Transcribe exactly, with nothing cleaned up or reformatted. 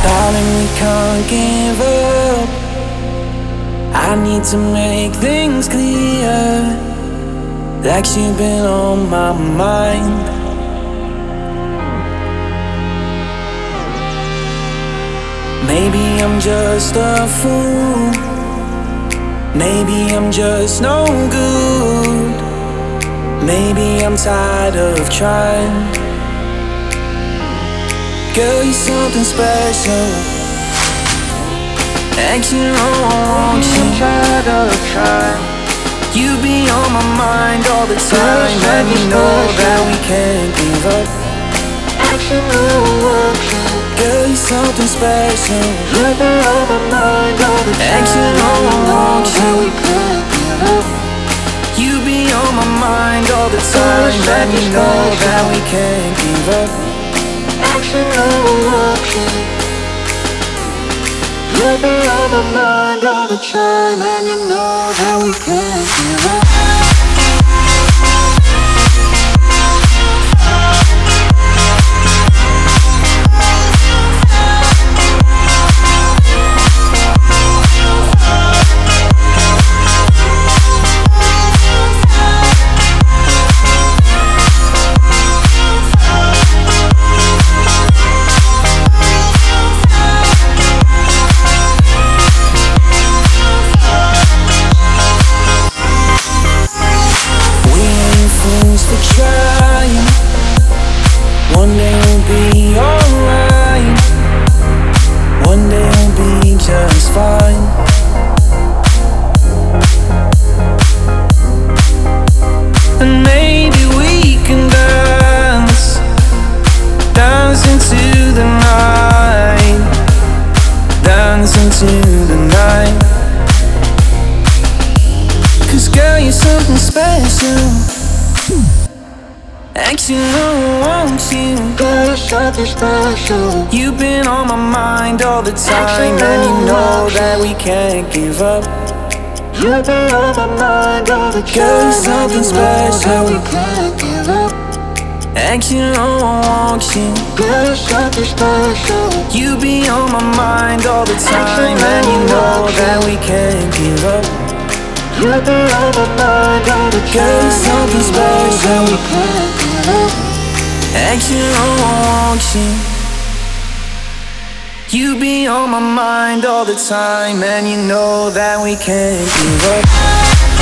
Darling, we can't give up. I need to make things clear, like you've been on my mind. Maybe I'm just a fool, maybe I'm just no good, maybe I'm tired of trying. Girl, you're something special, acting wrong, I'm tired of trying. You be on my mind all the time, and you know that we can't give up. Acting wrong, girl, you're something special, you be on my mind all the time, acting wrong, we can't give up. You be on my mind all the time, and you know that we can't give up. Acting wrong, you'll be on my mind all the time, and you know that we can't give up. Trying, one day we'll be alright, one day we'll be just fine. And maybe we can dance, dance into the night, dance into the night. Cause girl, you're something special, acting I want you, girl, you're something special. You've been on my mind all the time, and you know that we can't give up. You've been on my mind all the time, girl, you're something special, we can't give up. Acting I want you, girl, you're something special. You be on my mind all the time, and you know that we can't give up. You'll be on my mind all the time, girl, you're something special, we can't give up. Acting I want you, you be on my mind all the time, and you know that we can't give up.